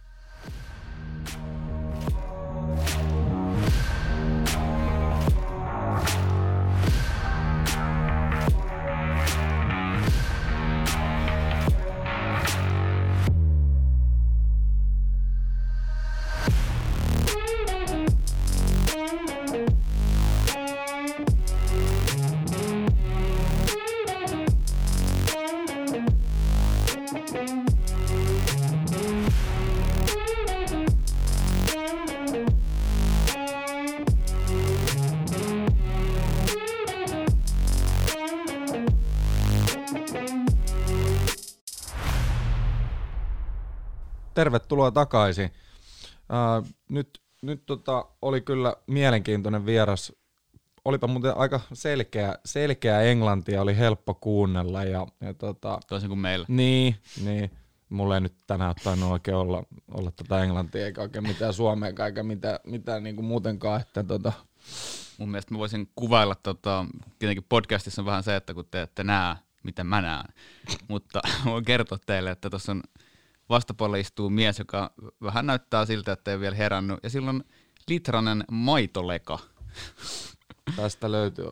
Tervetuloa takaisin. Uh, nyt nyt tota, oli kyllä mielenkiintoinen vieras. Olipa muuten aika selkeä, selkeä englantia, oli helppo kuunnella. Ja, ja tota, toisin kuin meillä. Niin, niin. Mulla ei nyt tänään tainnut oikein olla, olla tota englantia eikä oikein mitään suomea eikä mitään, mitään niinku muutenkaan. Että tota. Mun mielestä mä voisin kuvailla, tota, tietenkin podcastissa on vähän se, että kun te ette näe, miten mä näen. Mutta voin kertoa teille, että tuossa on vastapuolella istuu mies, joka vähän näyttää siltä, että ei vielä herännyt. Ja silloin litranen maitoleka. Tästä löytyy.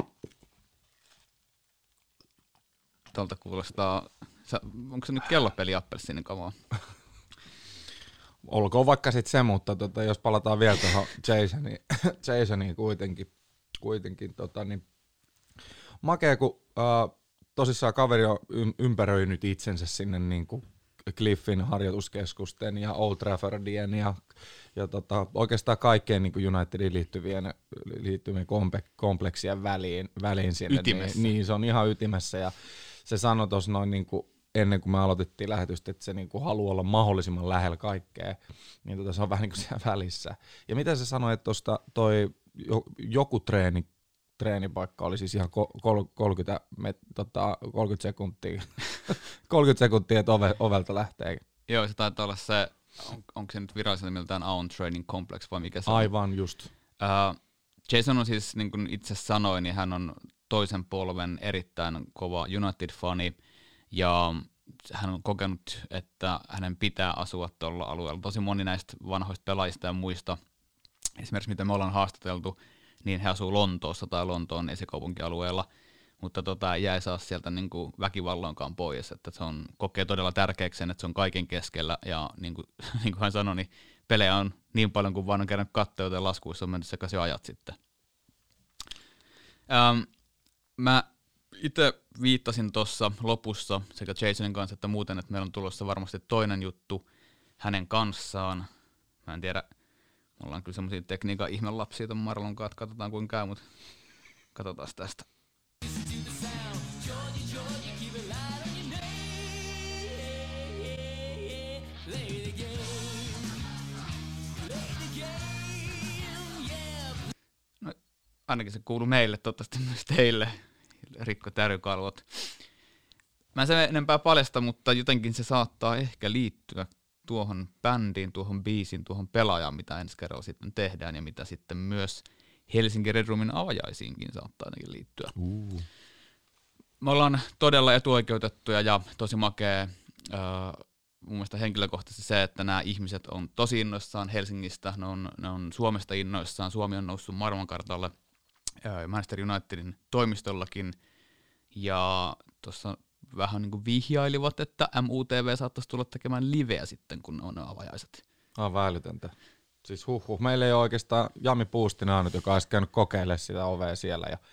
Tuolta kuulostaa, onko se nyt kellopeli appelsiinin kamaa? Olkoon vaikka sitten se, mutta tota, jos palataan vielä tuohon Jasoniin, Jasoniin kuitenkin, kuitenkin tota, niin makea, kun uh, tosissaan kaveri on ympäröinyt itsensä sinne niin kuin Cliffin harjoituskeskusten ja Old Traffordien ja, ja tota, oikeastaan kaikkeen niin kuin Unitedin liittyvien, liittyvien kompe- kompleksien väliin, väliin sinne. Ytimessä. Niin, niin, se on ihan ytimessä ja se sanoi tuossa noin niin kuin ennen kuin me aloitettiin lähetystä, että se niin kuin haluaa olla mahdollisimman lähellä kaikkea, niin tota, se on vähän niin kuin siellä välissä. Ja mitä se sanoi, että tuosta toi joku treeni, treenipaikka oli siis ihan kolmekymmentä, met, tota, kolmekymmentä sekuntia, kolmekymmentä sekuntia, että ove, ovelta lähtee. Joo, se taitaa olla se, on, onko se nyt virallisena miltään Aon Training Complex vai mikä se on? Aivan just. Uh, Jason on siis, niin kuin itse sanoin, niin hän on toisen polven erittäin kova United-fani, ja hän on kokenut, että hänen pitää asua tuolla alueella. Tosi moni näistä vanhoista pelaajista ja muista, esimerkiksi mitä me ollaan haastateltu, niin he asuu Lontoossa tai Lontoon esikaupunkialueella, mutta tota, jäi saa sieltä niin kuin väkivalloinkaan pois, että se on, kokee todella tärkeäksi sen, että se on kaiken keskellä, ja niin kuin, niin kuin hän sanoi, niin pelejä on niin paljon kuin vaan on kerran katsoa, joten laskuissa on mennyt sekaisin ajat sitten. Ähm, mä itse viittasin tuossa lopussa sekä Jasonin kanssa että muuten, että meillä on tulossa varmasti toinen juttu hänen kanssaan. Mä en tiedä, me ollaan kyllä semmosia tekniikan ihmelapsia ton Marlon kanssa, katsotaan kuinka käy, mutta katsotaan tästä. No, ainakin se kuuluu meille, toivottavasti myös teille, Rikko Tärjykalvot. Mä en sen enempää paljasta, mutta jotenkin se saattaa ehkä liittyä tuohon bändiin, tuohon biisiin, tuohon pelaajaan, mitä ensi kerralla sitten tehdään ja mitä sitten myös Helsingin Red Roomin avajaisiinkin saattaa ainakin liittyä. Uh. Me ollaan todella etuoikeutettuja ja tosi makea äh, mun mielestä henkilökohtaisesti se, että nämä ihmiset on tosi innoissaan Helsingistä, ne on, ne on Suomesta innoissaan, Suomi on noussut maailmankartalle äh, Manchester Unitedin toimistollakin, ja tuossa vähän niin kuin vihjailivat, että M U T V saattaisi tulla tekemään liveä sitten, kun on ne avajaiset. Aivan älytöntä. Siis huh huh. Meillä ei ole oikeastaan Jami Puustinen ainut, joka olisi käynyt kokeilemaan sitä ovea siellä ja,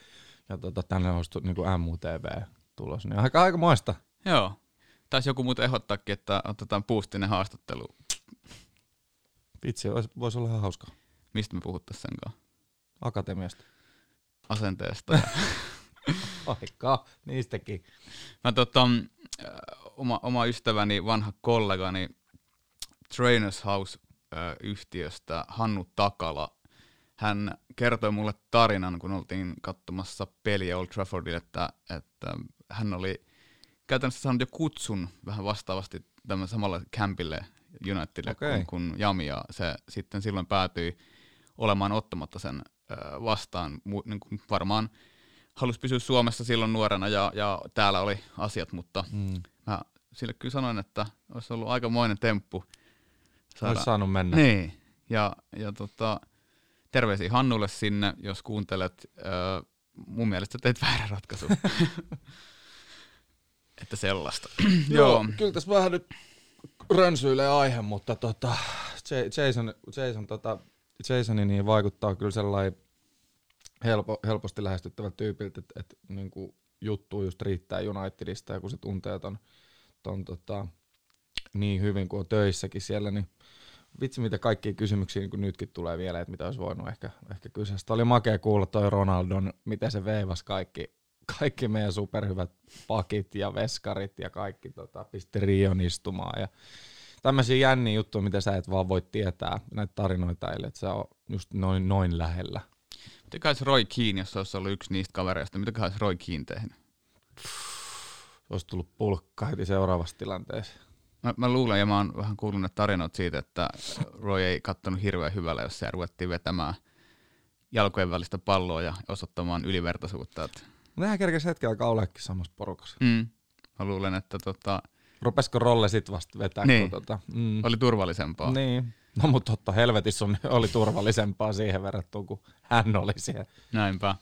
ja tota, tänne olisi niinku M U T V tulos. Niin aika, aika moista. Joo. Taisi joku muuten ehdottaakin, että otetaan Boostinen haastattelu. Vitsi, voisi olla ihan hauska. Mistä me puhuttaisiin senkaan? Akatemiasta. Asenteesta. Aika, niistäkin. Mä tota, oma, oma ystäväni, vanha kollegani Trainers House-yhtiöstä, Hannu Takala, hän kertoi mulle tarinan, kun oltiin katsomassa peliä Old Traffordille, että, että hän oli käytännössä saanut jo kutsun vähän vastaavasti tämän samalla campille Unitedille okay. kuin, kuin Jami, ja se sitten silloin päätyi olemaan ottamatta sen vastaan. Niin kuin varmaan halusi pysyä Suomessa silloin nuorena, ja, ja täällä oli asiat, mutta mm. mä sille kyllä sanoin, että olisi ollut aikamoinen temppu. Saada... Olisi saanut mennä. Niin, ja, ja tota, terveisiä Hannulle sinne, jos kuuntelet. Äh, mun mielestä teit väärän ratkaisun. Että sellaista. Joo, kyllä tässä vähän nyt rönsyilee aihe, mutta tota, Jason, Jason, tota, Jasoni niin vaikuttaa kyllä sellainen helpo, helposti lähestyttävältä tyypiltä, että et, niinku, juttu just riittää Unitedista, ja kun se tuntee ton, ton tota, niin hyvin kuin on töissäkin siellä, niin vitsi mitä kaikkia kysymyksiä niin nytkin tulee vielä, että mitä olisi voinut ehkä, ehkä kysyä. Sitä oli makea kuulla toi Ronaldon, miten se veivasi kaikki, kaikki meidän superhyvät pakit ja veskarit ja kaikki tota, pisti Rion istumaan. Ja tämmöisiä jänniä juttuja, mitä sä et vaan voi tietää, näitä tarinoita eilen, että se on just noin, noin lähellä. Mitäköhän Roy Keane, jos se olisi ollut yksi niistä kavereista, mitäköhän Roy Keane tehnyt? Olisi tullut pulkka heti seuraavassa tilanteessa. Mä, mä luulen, ja mä oon vähän kuullut ne tarinat siitä, että Roy ei kattonut hirveän hyvällä, jos se ruvettiin vetämään jalkojen välistä palloa ja osoittamaan ylivertaisuutta. Että... Nehän kerkesi hetken aikaa oleekin samassa porukassa. Mm. Mä luulen, että tota... Rupesiko Rolle sit vasta vetää? Niin, tota, mm. oli turvallisempaa. Niin, no mutta totta helvetissä on, oli turvallisempaa siihen verrattuna, kun hän oli siellä. Näinpä.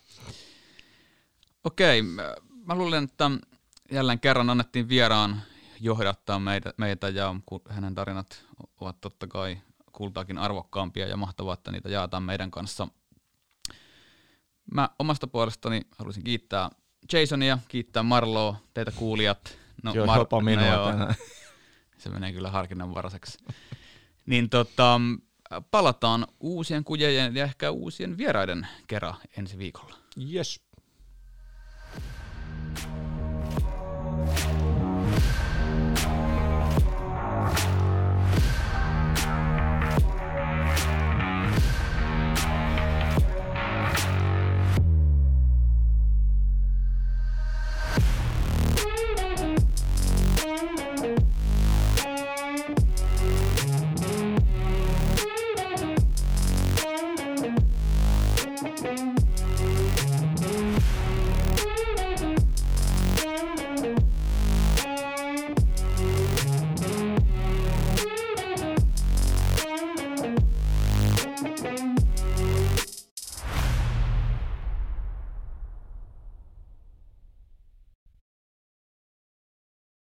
Okei, mä luulen, että jälleen kerran annettiin vieraan johdattaa meitä, meitä ja hänen tarinat ovat totta kai kultaakin arvokkaampia ja mahtavaa, että niitä jaetaan meidän kanssa. Mä omasta puolestani haluaisin kiittää Jasonia, kiittää Marloa, teitä kuulijat. No, joo, Mar- jopa minua no, tänään. Se menee kyllä harkinnanvaraiseksi. Niin tota, palataan uusien kujejen ja ehkä uusien vieraiden kerran ensi viikolla. Yes.